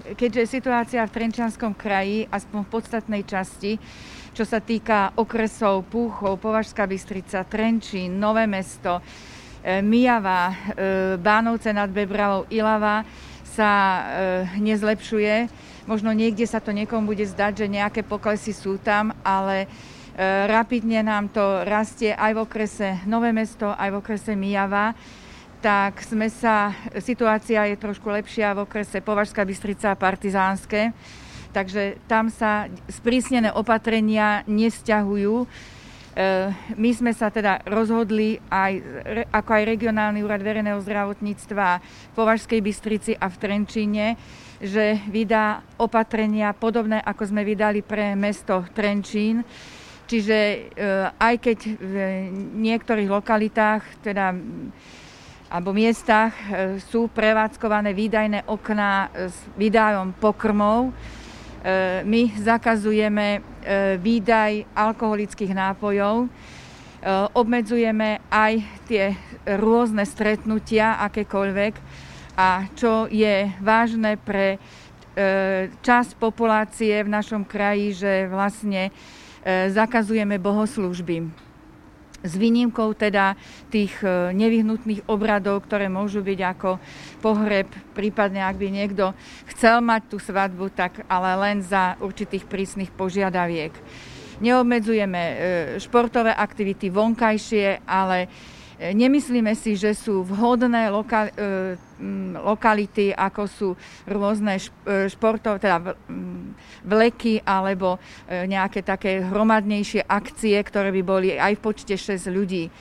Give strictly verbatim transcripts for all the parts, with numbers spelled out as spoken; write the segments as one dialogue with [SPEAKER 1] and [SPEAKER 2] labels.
[SPEAKER 1] keďže situácia v Trenčianskom kraji, aspoň v podstatnej časti, čo sa týka okresov Púchov, Považská Bystrica, Trenčín, Nové Mesto, Myjava, Bánovce nad Bebravou, Ilava, sa nezlepšuje. Možno niekde sa to niekomu bude zdať, že nejaké poklesy sú tam, ale rapidne nám to rastie aj v okrese Nové Mesto, aj v okrese Myjava. Tak sme sa, situácia je trošku lepšia v okrese Považská Bystrica a Partizánske. Takže tam sa sprísnené opatrenia nevzťahujú. My sme sa teda rozhodli, aj, ako aj Regionálny úrad verejného zdravotníctva v Považskej Bystrici a v Trenčíne, že vydá opatrenia podobné, ako sme vydali pre mesto Trenčín. Čiže aj keď v niektorých lokalitách, teda alebo miestach sú prevádzkované výdajné okná s výdajom pokrmov, my zakazujeme výdaj alkoholických nápojov, obmedzujeme aj tie rôzne stretnutia, akékoľvek, a čo je vážne pre časť populácie v našom kraji, že vlastne zakazujeme bohoslúžby. S výnimkou teda tých nevyhnutných obradov, ktoré môžu byť ako pohreb, prípadne ak by niekto chcel mať tú svadbu, tak ale len za určitých prísnych požiadaviek. Neobmedzujeme športové aktivity vonkajšie, ale nemyslíme si, že sú vhodné loka- lokality, ako sú rôzne športové, teda vleky alebo nejaké také hromadnejšie akcie, ktoré by boli aj v počte šesť ľudí.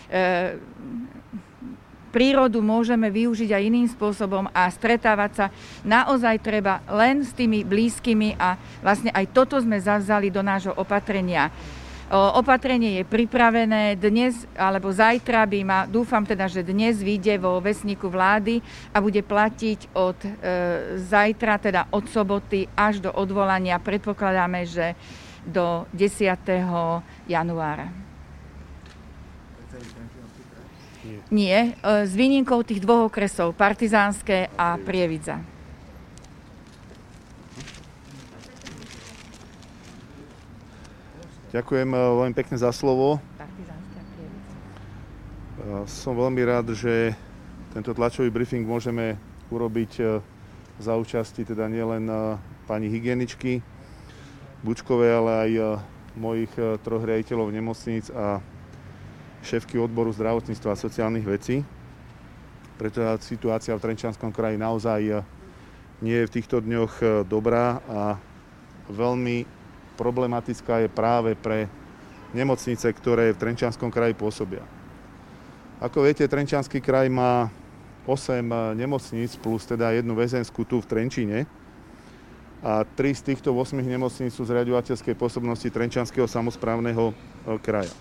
[SPEAKER 1] Prírodu môžeme využiť aj iným spôsobom a stretávať sa naozaj treba len s tými blízkymi a vlastne aj toto sme zavzali do nášho opatrenia. Opatrenie je pripravené dnes alebo zajtra by ma, dúfam teda, že dnes vyjde vo vesníku vlády a bude platiť od e, zajtra, teda od soboty až do odvolania. Predpokladáme, že do desiateho januára. Nie, e, s výnimkou tých dvoch okresov, Partizánske a Prievidza.
[SPEAKER 2] Ďakujem veľmi pekne za slovo. Som veľmi rád, že tento tlačový briefing môžeme urobiť za účasti teda nielen pani hygieničky Bučkovej, ale aj mojich troch riaditeľov nemocníc a šéfky odboru zdravotníctva a sociálnych vecí. Preto situácia v Trenčianskom kraji naozaj nie je v týchto dňoch dobrá a veľmi problematická je práve pre nemocnice, ktoré v Trenčianskom kraji pôsobia. Ako viete, Trenčiansky kraj má osem nemocníc plus teda jednu väzenskú tu v Trenčíne a tri z týchto ôsmich nemocníc sú z riaďovateľskej pôsobnosti Trenčianskeho samosprávneho kraja.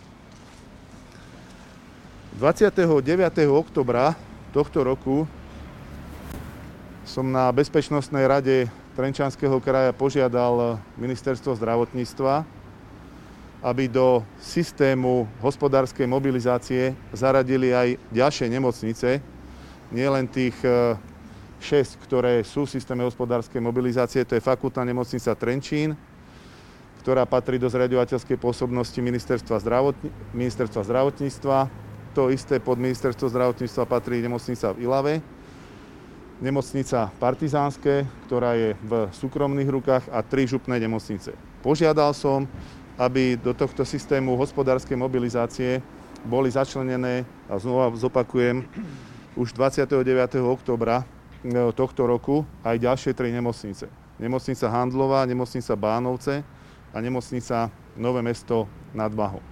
[SPEAKER 2] dvadsiateho deviateho októbra tohto roku som na Bezpečnostnej rade Trenčianskeho kraja požiadal Ministerstvo zdravotníctva, aby do systému hospodárskej mobilizácie zaradili aj ďalšie nemocnice, nielen tých šesť, ktoré sú v systéme hospodárskej mobilizácie, to je Fakultná nemocnica Trenčín, ktorá patrí do zriaďovateľskej pôsobnosti Ministerstva, zdravotní, Ministerstva zdravotníctva. To isté pod Ministerstvo zdravotníctva patrí nemocnica v Ilave, nemocnica Partizánske, ktorá je v súkromných rukách, a tri župné nemocnice. Požiadal som, aby do tohto systému hospodárskej mobilizácie boli začlenené, a znova zopakujem, už dvadsiateho deviateho októbra tohto roku aj ďalšie tri nemocnice. Nemocnica Handlová, nemocnica Bánovce a nemocnica Nové Mesto nad Váhom.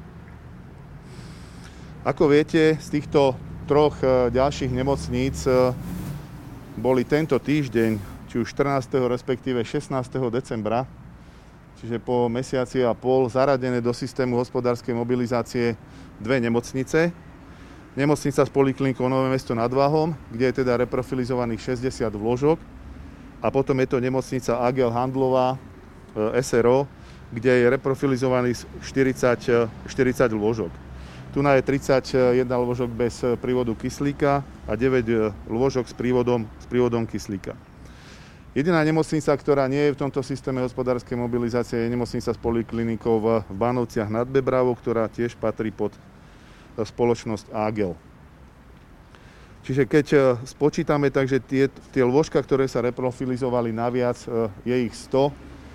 [SPEAKER 2] Ako viete, z týchto troch ďalších nemocníc boli tento týždeň, či už štrnásteho respektíve šestnásteho decembra, čiže po mesiaci a pol, zaradené do systému hospodárskej mobilizácie dve nemocnice. Nemocnica s poliklinikou Nové Mesto nad Váhom, kde je teda reprofilizovaných šesťdesiat lôžok, a potom je to nemocnica Agel Handlová es er o, kde je reprofilizovaných štyridsať, štyridsať lôžok. Tu je tridsaťjeden lôžok bez prívodu kyslíka a deväť lôžok s prívodom, s prívodom kyslíka. Jediná nemocnica, ktorá nie je v tomto systéme hospodárskej mobilizácie, je nemocnica s poliklinikou v Bánovciach nad Bebravou, ktorá tiež patrí pod spoločnosť Ágel. Čiže keď spočítame, takže tie, tie lôžka, ktoré sa reprofilizovali naviac, je ich sto.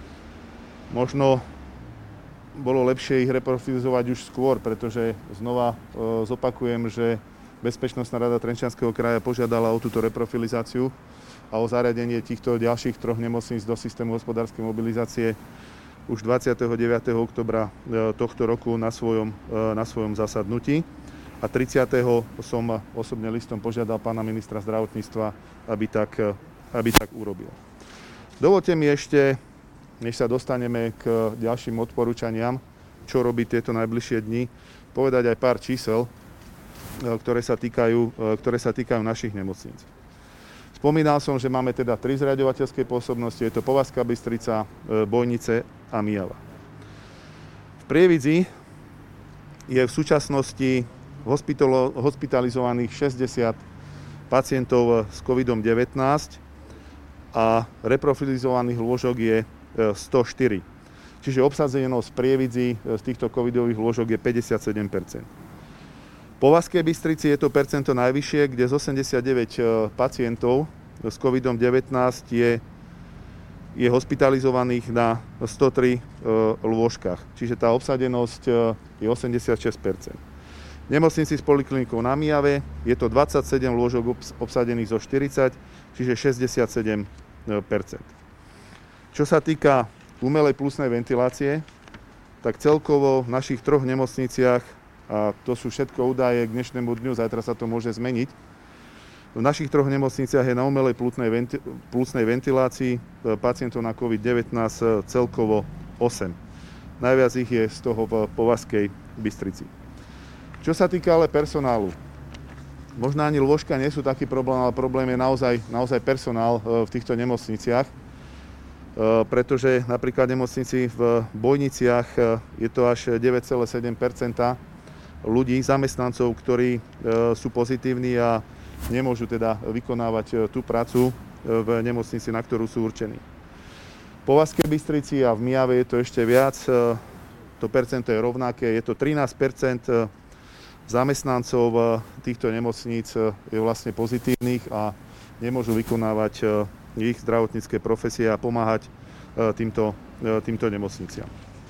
[SPEAKER 2] Možno bolo lepšie ich reprofilizovať už skôr, pretože znova zopakujem, že Bezpečnostná rada Trenčianskeho kraja požiadala o túto reprofilizáciu a o zariadenie týchto ďalších troch nemocníc do systému hospodárskej mobilizácie už dvadsiateho deviateho októbra tohto roku na svojom, na svojom zasadnutí. A tridsiateho som osobne listom požiadal pána ministra zdravotníctva, aby tak, aby tak urobil. Dovolte mi ešte, než sa dostaneme k ďalším odporúčaniam, čo robiť tieto najbližšie dni, povedať aj pár čísel, ktoré sa týkajú, ktoré sa týkajú našich nemocníc. Spomínal som, že máme teda tri zriaďovateľské pôsobnosti, je to Považská Bystrica, Bojnice a Myjava. V Prievidzi je v súčasnosti hospitalizovaných šesťdesiat pacientov s kovidom devätnásť a reprofilizovaných lôžok je sto štyri. Čiže obsadenosť v Prievidzi z týchto covidových lôžok je päťdesiatsedem percent. Po Považskej Bystrici je to percento najvyššie, kde z osemdesiatdeväť pacientov s kovidom devätnásť je, je hospitalizovaných na sto tri lôžkach. Čiže tá obsadenosť je osemdesiatšesť percent. V nemocnici s poliklinikou na Myjave je to dvadsaťsedem lôžok obsadených zo štyridsať, čiže šesťdesiatsedem percent. Čo sa týka umelej pľúcnej ventilácie, tak celkovo v našich troch nemocniciach, a to sú všetko údaje k dnešnému dňu, zajtra sa to môže zmeniť, v našich troch nemocniciach je na umelej pľúcnej ventilácii pacientov na covid devätnásť celkovo osem. Najviac ich je z toho v Považskej Bystrici. Čo sa týka ale personálu, možno ani lôžka nie sú taký problém, ale problém je naozaj, naozaj personál v týchto nemocniciach, pretože napríklad v nemocnici v Bojniciach je to až deväť celá sedem percenta ľudí, zamestnancov, ktorí sú pozitívni a nemôžu teda vykonávať tú prácu v nemocnici, na ktorú sú určení. V Považskej Bystrici a v Myjave je to ešte viac, to percento je rovnaké, je to trinásť percent zamestnancov týchto nemocníc je vlastne pozitívnych a nemôžu vykonávať ich zdravotnícke profesie a pomáhať týmto, týmto nemocniciam.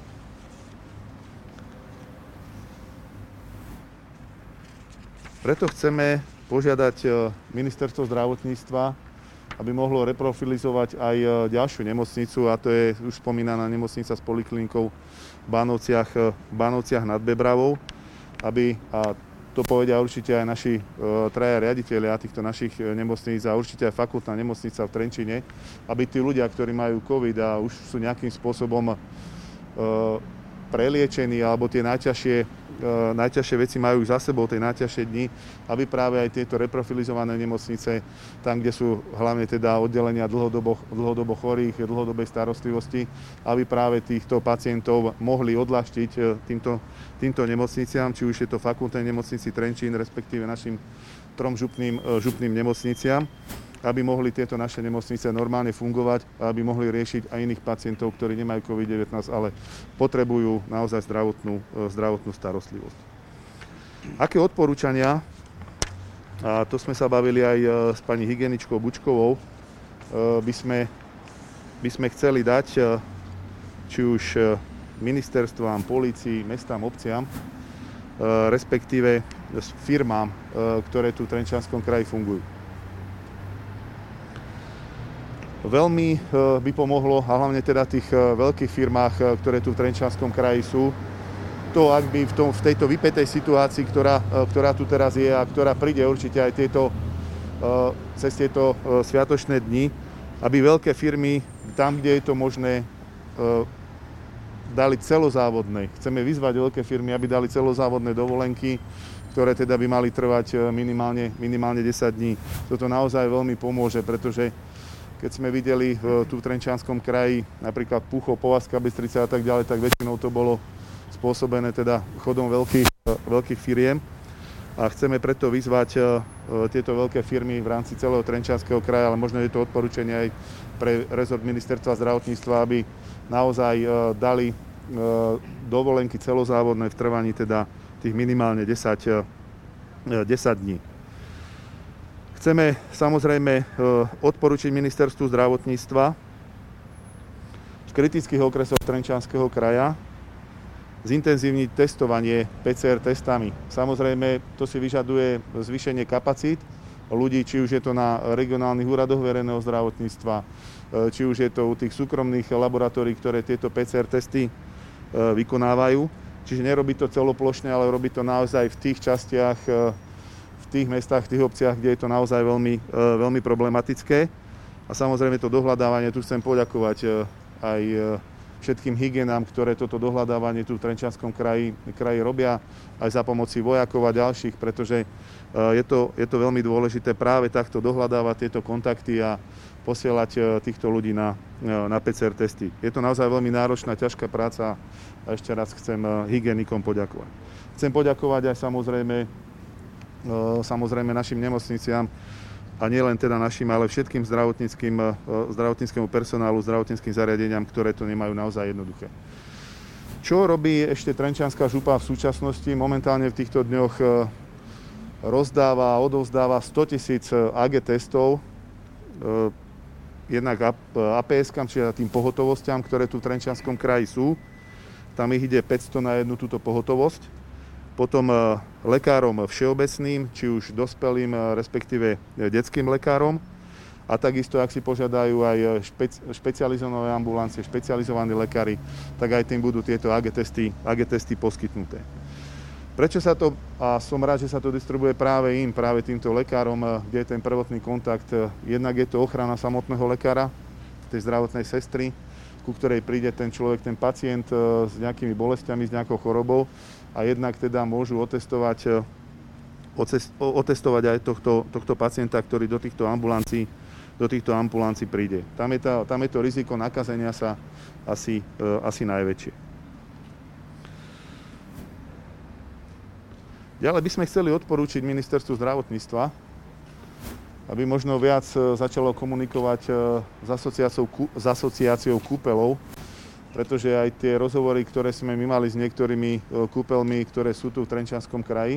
[SPEAKER 2] Preto chceme požiadať ministerstvo zdravotníctva, aby mohlo reprofilizovať aj ďalšiu nemocnicu, a to je už spomínaná nemocnica s poliklinikou v Bánovciach, v Bánovciach nad Bebravou, aby, a to povedia určite aj naši e, traja riaditelia týchto našich nemocníc a určite aj fakultná nemocnica v Trenčine, aby tí ľudia, ktorí majú covid a už sú nejakým spôsobom e, preliečení alebo tie najťažšie, e, najťažšie veci majú za sebou, tie najťažšie dni, aby práve aj tieto reprofilizované nemocnice, tam, kde sú hlavne teda oddelenia dlhodobo, dlhodobo chorých, dlhodobej starostlivosti, aby práve týchto pacientov mohli odľahčiť týmto, týmto nemocniciam, či už je to fakultnej nemocnici Trenčín, respektíve našim trom župným, župným nemocniciam, aby mohli tieto naše nemocnice normálne fungovať a aby mohli riešiť aj iných pacientov, ktorí nemajú covid devätnásť, ale potrebujú naozaj zdravotnú, zdravotnú starostlivosť. Aké odporúčania, a to sme sa bavili aj s pani hygieničkou Bučkovou, by sme, by sme chceli dať či už ministerstvám, polícii, mestám, obciam, respektíve firmám, ktoré tu v Trenčianskom kraji fungujú. Veľmi by pomohlo, a hlavne teda tých veľkých firmách, ktoré tu v Trenčianskom kraji sú, to, ak by v, tom, v tejto vypätej situácii, ktorá, ktorá tu teraz je a ktorá príde určite aj tieto, cez tieto sviatočné dni, aby veľké firmy, tam, kde je to možné, dali celozávodné. Chceme vyzvať veľké firmy, aby dali celozávodné dovolenky, ktoré teda by mali trvať minimálne, minimálne desať dní. Toto naozaj veľmi pomôže, pretože keď sme videli tu v Trenčianskom kraji napríklad Púchov, Považská Bystrica a tak ďalej, tak väčšinou to bolo spôsobené teda chodom veľkých, veľkých firiem. A chceme preto vyzvať tieto veľké firmy v rámci celého Trenčianskeho kraja, ale možno je to odporúčanie aj pre rezort ministerstva zdravotníctva, aby naozaj dali dovolenky celozávodné v trvaní teda tých minimálne desať, desať dní. Chceme samozrejme odporúčiť ministerstvu zdravotníctva v kritických okresoch Trenčianskeho kraja zintenzívniť testovanie pé cé er testami. Samozrejme, to si vyžaduje zvýšenie kapacít ľudí, či už je to na regionálnych úradoch verejného zdravotníctva, či už je to u tých súkromných laboratórií, ktoré tieto pé cé er testy vykonávajú. Čiže nerobí to celoplošne, ale robí to naozaj v tých častiach, v tých mestách, v tých obciach, kde je to naozaj veľmi, veľmi problematické. A samozrejme to dohľadávanie, tu chcem poďakovať aj všetkým hygienám, ktoré toto dohľadávanie tu v Trenčianskom kraji, kraji robia, aj za pomoci vojakov a ďalších, pretože je to, je to veľmi dôležité práve takto dohľadávať tieto kontakty a posielať týchto ľudí na, na pé cé er testy. Je to naozaj veľmi náročná, ťažká práca a ešte raz chcem hygienikom poďakovať. Chcem poďakovať aj samozrejme, samozrejme našim nemocniciam, a nielen teda našim, ale všetkým zdravotníckym, zdravotníckému personálu, zdravotníckym zariadeniam, ktoré to nemajú naozaj jednoduché. Čo robí ešte Trenčianska župa v súčasnosti? Momentálne v týchto dňoch rozdáva a odovzdáva stotisíc á gé testov, jednak á pé eskam, čiže tým pohotovostiam, ktoré tu v Trenčianskom kraji sú. Tam ich ide päťsto na jednu túto pohotovosť. Potom lekárom všeobecným, či už dospelým, respektíve detským lekárom. A takisto, ak si požiadajú aj špeci- špecializované ambulancie, špecializovaní lekári, tak aj tým budú tieto á gé testy, á gé testy poskytnuté. Prečo sa to, a som rád, že sa to distribuje práve im, práve týmto lekárom, kde je ten prvotný kontakt, jednak je to ochrana samotného lekára, tej zdravotnej sestry, ku ktorej príde ten človek, ten pacient s nejakými bolestiami, s nejakou chorobou, a jednak teda môžu otestovať, otestovať aj tohto, tohto pacienta, ktorý do týchto ambulancií, do týchto ambulancií príde. Tam je, tá, tam je to riziko nakazenia sa asi, asi najväčšie. Ďalej by sme chceli odporúčiť ministerstvu zdravotníctva, aby možno viac začalo komunikovať s asociáciou, s asociáciou kúpeľov, pretože aj tie rozhovory, ktoré sme my mali s niektorými kúpeľmi, ktoré sú tu v Trenčianskom kraji,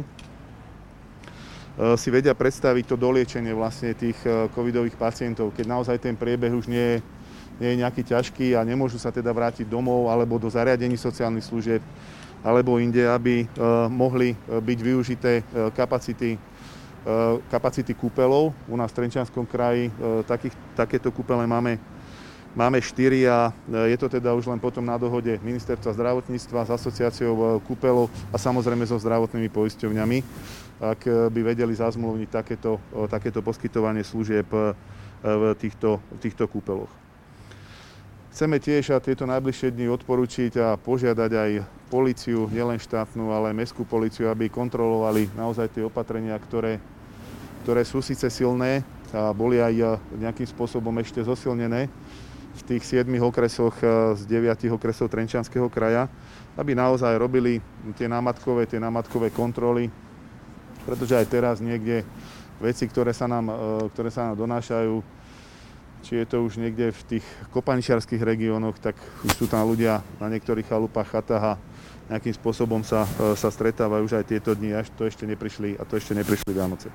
[SPEAKER 2] si vedia predstaviť to doliečenie vlastne tých covidových pacientov, keď naozaj ten priebeh už nie je, nie je nejaký ťažký a nemôžu sa teda vrátiť domov alebo do zariadení sociálnych služieb alebo inde, aby mohli byť využité kapacity, kapacity kúpeľov. U nás v Trenčianskom kraji takých, takéto kúpele máme Máme štyri a je to teda už len potom na dohode ministerstva zdravotníctva s asociáciou kúpeľov a samozrejme so zdravotnými poisťovňami, ak by vedeli zazmluvniť takéto, takéto poskytovanie služieb v týchto, v týchto kúpeľoch. Chceme tiež a tieto najbližšie dni odporučiť a požiadať aj políciu, nielen štátnu, ale aj mestskú políciu, aby kontrolovali naozaj tie opatrenia, ktoré, ktoré sú síce silné a boli aj nejakým spôsobom ešte zosilnené v tých siedmich okresoch z deviatich okresov Trenčianskeho kraja, aby naozaj robili tie námatkové, tie námatkové kontroly, pretože aj teraz niekde veci, ktoré sa nám, ktoré sa nám donášajú, či je to už niekde v tých kopaničiarskych regiónoch, tak už sú tam ľudia na niektorých chalupách, chatách a nejakým spôsobom sa, sa stretávajú už aj tieto dni, až to ešte neprišli, a to ešte neprišli Vianoce.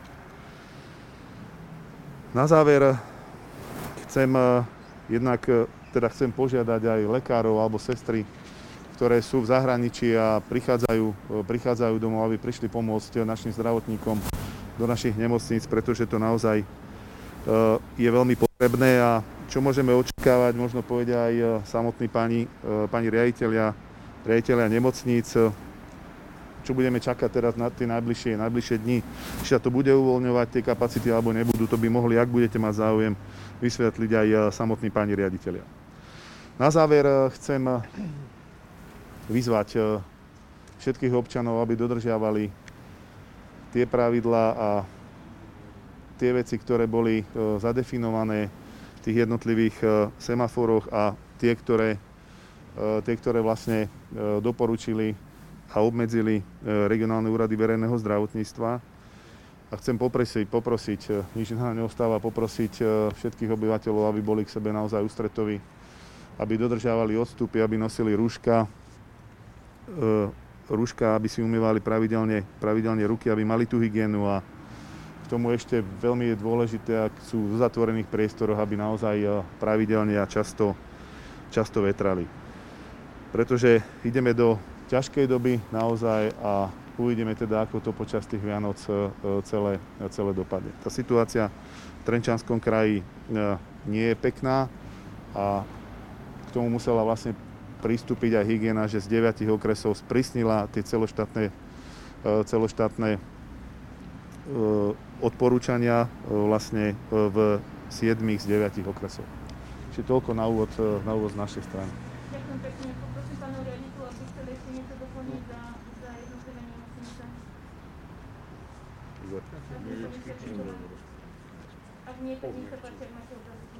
[SPEAKER 2] Na záver chcem Jednak teda chcem požiadať aj lekárov alebo sestry, ktoré sú v zahraničí a prichádzajú, prichádzajú domov, aby prišli pomôcť našim zdravotníkom do našich nemocníc, pretože to naozaj je veľmi potrebné a čo môžeme očakávať, možno povedia aj samotní pani, pani riaditeľia, riaditeľia nemocníc, čo budeme čakať teraz na tie najbližšie, najbližšie dni. Či sa to bude uvoľňovať, tie kapacity, alebo nebudú, to by mohli, ak budete mať záujem, vysvetliť aj samotní páni riaditeľia. Na záver chcem vyzvať všetkých občanov, aby dodržiavali tie pravidlá a tie veci, ktoré boli zadefinované v tých jednotlivých semaforoch a tie, ktoré, tie, ktoré vlastne doporučili a obmedzili regionálne úrady verejného zdravotníctva. A chcem poprosiť, poprosiť, nič nám neostáva, poprosiť všetkých obyvateľov, aby boli k sebe naozaj ústretoví, aby dodržiavali odstupy, aby nosili rúška, rúška, aby si umývali pravidelne, pravidelne ruky, aby mali tú hygienu a k tomu ešte veľmi je dôležité, ak sú v zatvorených priestoroch, aby naozaj pravidelne a často, často vetrali. Pretože ideme do ťažkej doby naozaj a uvidíme teda, ako to počas tých Vianoc celé, celé dopadne. Tá situácia v Trenčianskom kraji nie je pekná a k tomu musela vlastne pristúpiť aj hygiena, že z deviatich okresov sprísnila tie celoštátne, celoštátne odporúčania vlastne v siedmich z deviatich okresov. Čiže toľko na úvod, na úvod z našej strany.
[SPEAKER 3] Ďakujem pekne. Poprosím pánov riaditeľov, aby chceli ešte niečo doplniť za, za jednotlivé nemocnice. Ak nie, tak nech sa páči, ak máte otázky.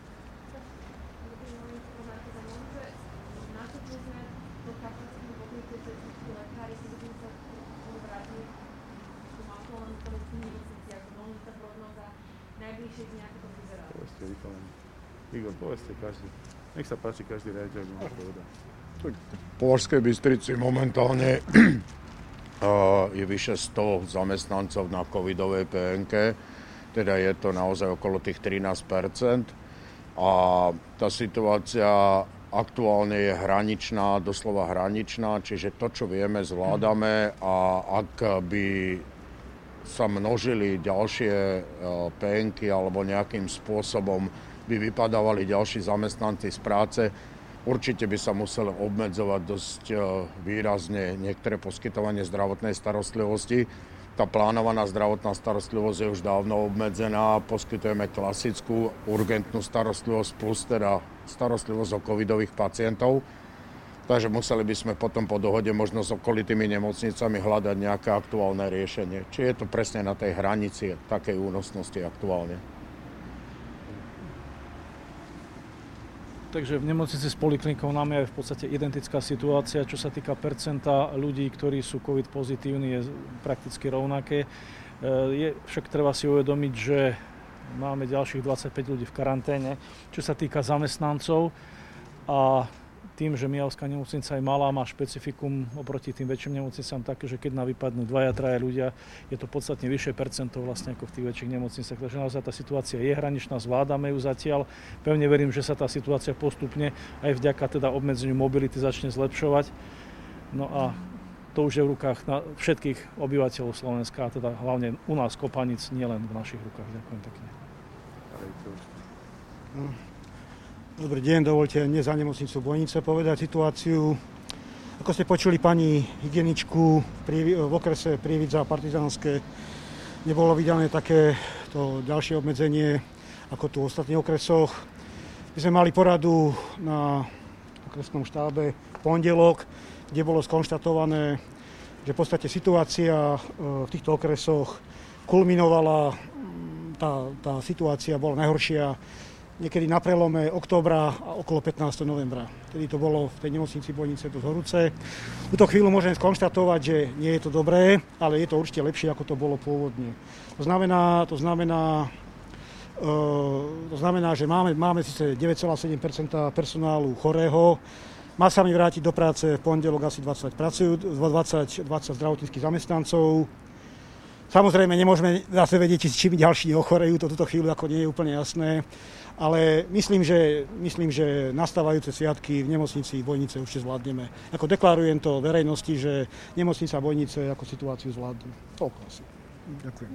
[SPEAKER 3] Nastúpili sme do kapacity v okolice cestičky lekári, keď budeme sa vrátiť k tomu aktuálnym stavu v nemocniciach, veľmi sa prognoza najbližšie dni, ako to vyzerá.
[SPEAKER 2] Povedzte, vykolený. Igor, povedzte každý. Nech sa páči, každý riaditeľ by môže povedať.
[SPEAKER 4] V Považskej Bystrici momentálne je vyše sto zamestnancov na covidovej pé en ká, teda je to naozaj okolo tých trinásť percent. A tá situácia aktuálne je hraničná, doslova hraničná, čiže to, čo vieme, zvládame a ak by sa množili ďalšie pé en ká alebo nejakým spôsobom by vypadávali ďalší zamestnanci z práce, určite by sa museli obmedzovať dosť výrazne niektoré poskytovanie zdravotnej starostlivosti. Tá plánovaná zdravotná starostlivosť je už dávno obmedzená. Poskytujeme klasickú urgentnú starostlivosť plus teda starostlivosť o covidových pacientov. Takže museli by sme potom po dohode možno s okolitými nemocnicami hľadať nejaké aktuálne riešenie. Či je to presne na tej hranici takej únosnosti aktuálne.
[SPEAKER 5] Takže v nemocnici s poliklinikou nám je v podstate identická situácia, čo sa týka percenta ľudí, ktorí sú COVID pozitívni, je prakticky rovnaké. Je však treba si uvedomiť, že máme ďalších dvadsaťpäť ľudí v karanténe, čo sa týka zamestnancov a tým, že Mijavská nemocnica je malá, má špecifikum oproti tým väčším nemocnicám také, že keď nám vypadnú dvaja, traja ľudia, je to podstatne vyššie percento vlastne ako v tých väčších nemocniciach. Takže naozaj tá situácia je hraničná, zvládame ju zatiaľ. Pevne verím, že sa tá situácia postupne aj vďaka teda obmedzeniu mobility začne zlepšovať. No a to už je v rukách na všetkých obyvateľov Slovenska, a teda hlavne u nás Kopanic, nielen v našich rukách. Ďakujem pekne.
[SPEAKER 6] Dobrý deň, dovolte dnes za nemocnicu Bojnice povedať situáciu. Ako ste počuli pani hygieničku v okrese Prievidza a Partizánske, nebolo vydané takéto ďalšie obmedzenie ako tu v ostatných okresoch. My sme mali poradu na okresnom štábe v pondelok, kde bolo skonštatované, že v podstate situácia v týchto okresoch kulminovala, tá, tá situácia bola najhoršia niekedy na prelome októbra a okolo pätnásteho novembra. Tedy to bolo v tej nemocnici Bojnice dosť horúce. V túto chvíľu môžem skonštatovať, že nie je to dobré, ale je to určite lepšie, ako to bolo pôvodne. To znamená, to znamená, uh, to znamená že máme, máme síce deväť celá sedem percenta personálu chorého, má sa mi vrátiť do práce v pondelok asi dvadsať, pracujú, dvadsať, dvadsať zdravotníckych zamestnancov. Samozrejme, nemôžeme zase vedieť, či čím ďalší ochorejú, to túto chvíľu ako nie je úplne jasné. Ale myslím, že, myslím, že nastávajúce sviatky v nemocnici Bojnice určite zvládneme. Ako deklarujem to verejnosti, že nemocnica Bojnice ako situáciu zvládne. Toľko asi. Ďakujem.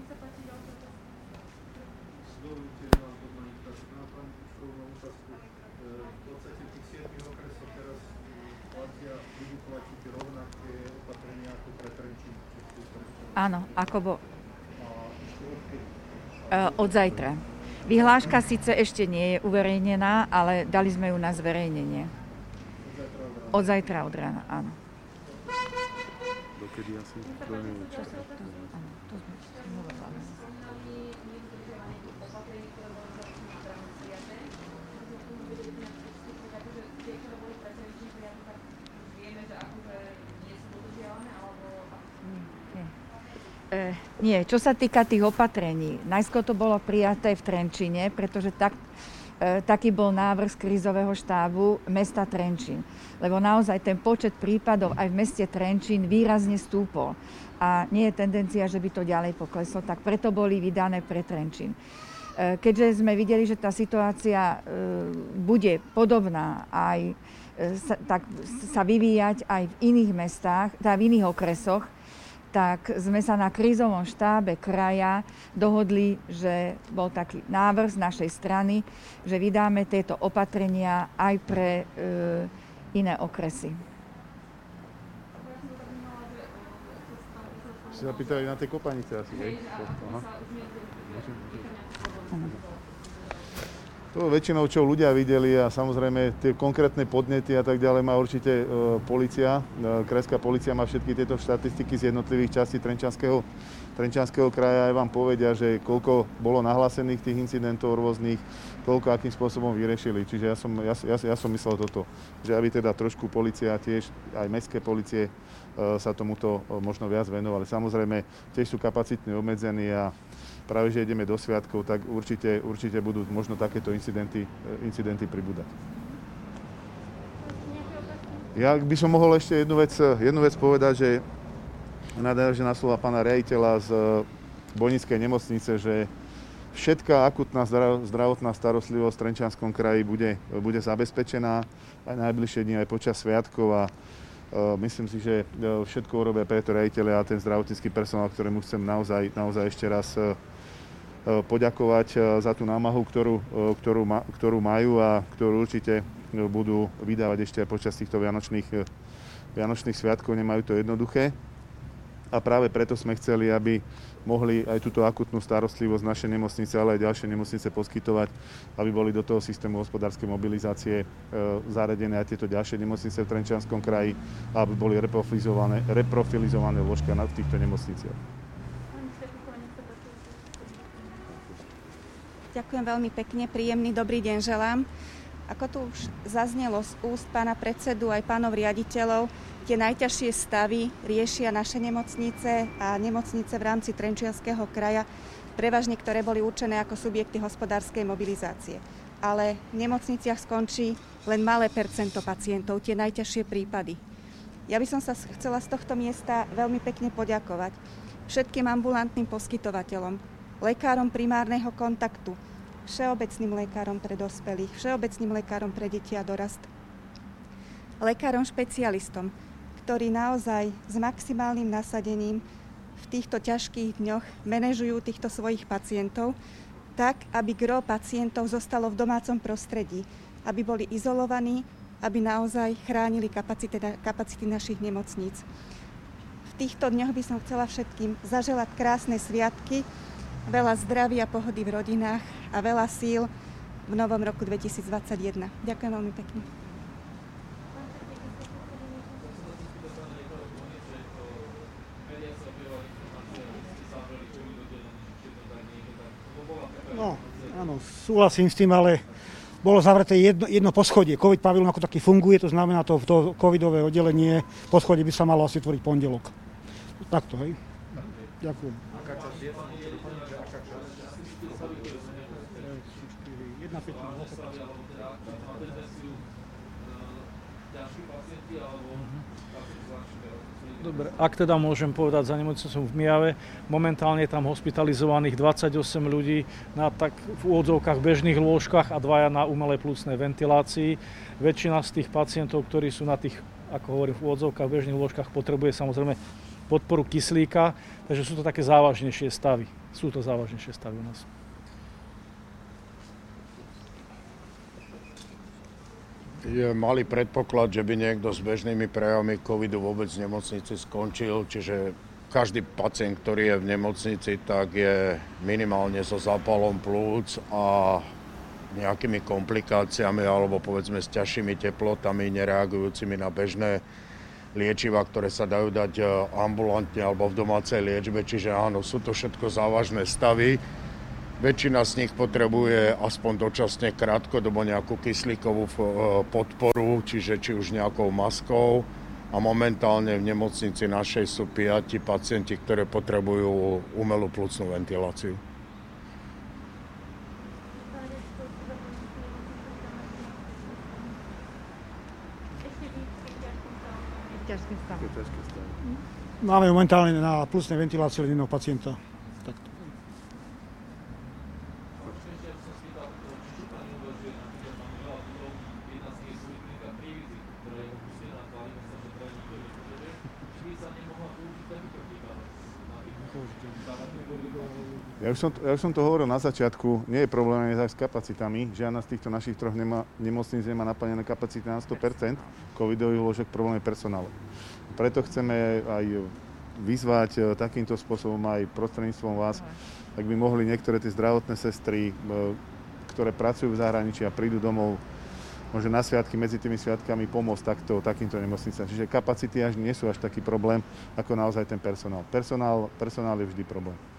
[SPEAKER 1] Áno, ako bo... Od zajtra. Vyhláška síce ešte nie je uverejnená, ale dali sme ju na zverejnenie. Od zajtra od rána, áno.
[SPEAKER 2] Dokedy asi? To neviem.
[SPEAKER 1] Áno, to sme hovorili. E, Nie, čo sa týka tých opatrení, najskôr to bolo prijaté v Trenčine, pretože tak, e, taký bol návrh z krízového štábu mesta Trenčín. Lebo naozaj ten počet prípadov aj v meste Trenčín výrazne stúpol. A nie je tendencia, že by to ďalej pokleslo, tak preto boli vydané pre Trenčín. Keďže sme videli, že tá situácia bude podobná aj sa, tak, sa vyvíjať aj v iných mestách, teda v iných okresoch, tak sme sa na krízovom štábe kraja dohodli, že bol taký návrh z našej strany, že vydáme tieto opatrenia aj pre e, iné okresy.
[SPEAKER 2] Si sa pýtali na tej kopanice asi, hej? Aha. To väčšinou, čo ľudia videli a samozrejme tie konkrétne podnety a tak ďalej má určite e, polícia. E, Krajská polícia má všetky tieto štatistiky z jednotlivých častí Trenčianskeho, Trenčianskeho kraja. Aj vám povedia, že koľko bolo nahlásených tých incidentov rôznych, koľko akým spôsobom vyriešili. Čiže ja som, ja, ja, ja som myslel toto, že aby teda trošku polícia tiež, aj mestské polície e, sa tomuto e, možno viac venovali. Samozrejme, tiež sú kapacitne obmedzení a práve, že ideme do sviatkov, tak určite, určite budú možno takéto incidenty, incidenty pribúdať. Ja by som mohol ešte jednu vec, jednu vec povedať, že nadviažem na slova pána riaditeľa z Bojnickej nemocnice, že všetká akutná zdravotná starostlivosť v Trenčianskom kraji bude, bude zabezpečená aj najbližšie dni, aj počas sviatkov a myslím si, že všetko urobia preto riaditeľe a ten zdravotnícky personál, ktorému chcem naozaj, naozaj ešte raz poďakovať za tú námahu, ktorú, ktorú, ktorú majú a ktorú určite budú vydávať ešte aj počas týchto vianočných, vianočných sviatkov. Nemajú to jednoduché a práve preto sme chceli, aby mohli aj túto akutnú starostlivosť naše nemocnice, ale aj ďalšie nemocnice poskytovať, aby boli do toho systému hospodárskej mobilizácie e, zaradené aj tieto ďalšie nemocnice v Trenčianskom kraji, aby boli reprofilizované, reprofilizované lôžka v týchto nemocniciach.
[SPEAKER 7] Ďakujem veľmi pekne, príjemný dobrý deň želám. Ako tu už zaznelo z úst pána predsedu aj pánov riaditeľov, tie najťažšie stavy riešia naše nemocnice a nemocnice v rámci Trenčianskeho kraja, prevažne ktoré boli určené ako subjekty hospodárskej mobilizácie. Ale v nemocniciach skončí len malé percento pacientov, tie najťažšie prípady. Ja by som sa chcela z tohto miesta veľmi pekne poďakovať všetkým ambulantným poskytovateľom, lekárom primárneho kontaktu, všeobecným lekárom pre dospelých, všeobecným lekárom pre deti a dorast, lekárom špecialistom, ktorí naozaj s maximálnym nasadením v týchto ťažkých dňoch manažujú týchto svojich pacientov tak, aby gro pacientov zostalo v domácom prostredí, aby boli izolovaní, aby naozaj chránili kapacity, kapacity našich nemocníc. V týchto dňoch by som chcela všetkým zaželať krásne sviatky, veľa zdravia a pohody v rodinách a veľa síl v novom roku dvetisícdvadsaťjeden. Ďakujem veľmi pekne.
[SPEAKER 6] No, áno, súhlasím s tým, ale bolo zavreté jedno, jedno poschodie. COVID pavilón ako taký funguje, to znamená, to, to covidové oddelenie poschodie by sa malo asi otvoriť pondelok. Takto, hej. Ďakujem.
[SPEAKER 5] Dobre, ak teda môžem povedať za nemocnicou v Mijave, momentálne je tam hospitalizovaných dvadsaťosem ľudí na tak v úvodzovkách bežných lôžkach a dvaja na umelej plúcnej ventilácii. Väčšina z tých pacientov, ktorí sú na tých, ako hovorím, v úvodzovkách bežných lôžkach, potrebuje samozrejme podporu kyslíka, takže sú to také závažnejšie stavy. Sú to závažnejšie stavy u nás.
[SPEAKER 4] Je malý predpoklad, že by niekto s bežnými prejavmi covidu vôbec v nemocnici skončil, čiže každý pacient, ktorý je v nemocnici, tak je minimálne so zápalom plúc a nejakými komplikáciami alebo povedzme s ťažšími teplotami, nereagujúcimi na bežné liečiva, ktoré sa dajú dať ambulantne alebo v domácej liečbe, čiže áno, sú to všetko závažné stavy. Väčšina z nich potrebuje aspoň dočasne krátkodobo nejakú kyslíkovú podporu, čiže či už nejakou maskou a momentálne v nemocnici našej sú piati pacienti, ktorí potrebujú umelú pľucnú ventiláciu.
[SPEAKER 6] Máme momentálne na pľucnej ventilácii len jedného pacienta. Takto.
[SPEAKER 2] Ja už, som, ja už som to hovoril na začiatku, nie je problém aj s kapacitami. Žiadna z týchto našich troch nema, nemocníc nemá naplnené kapacity na sto percent covidových lôžok, problém je personál. Preto chceme aj vyzvať takýmto spôsobom aj prostredníctvom vás, ak by mohli niektoré tie zdravotné sestry, ktoré pracujú v zahraničí a prídu domov, môže na sviatky, medzi tými sviatkami pomôcť takto, takýmto nemocnicám. Čiže kapacity až nie sú až taký problém, ako naozaj ten personál. Personál, personál je vždy problém.